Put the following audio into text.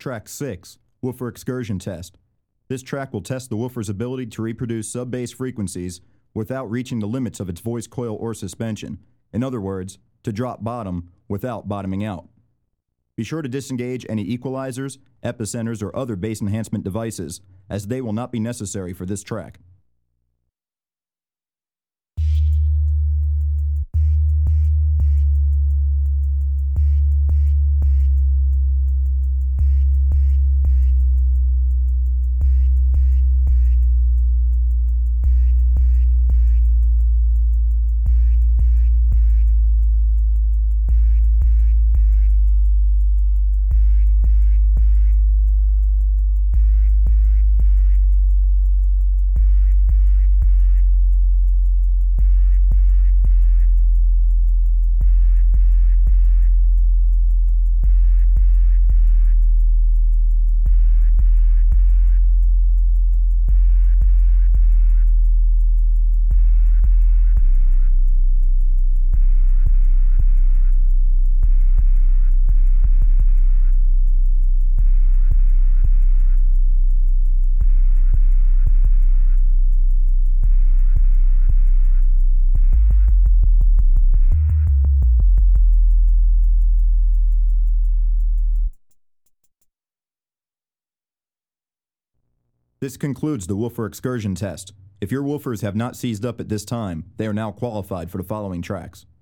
Track 6, Woofer Excursion Test. This track will test the woofer's ability to reproduce sub-bass frequencies without reaching the limits of its voice coil or suspension. In other words, to drop bottom without bottoming out. Be sure to disengage any equalizers, epicenters, or other bass enhancement devices, as they will not be necessary for this track. This concludes the woofer excursion test. If your woofers have not seized up at this time, they are now qualified for the following tracks.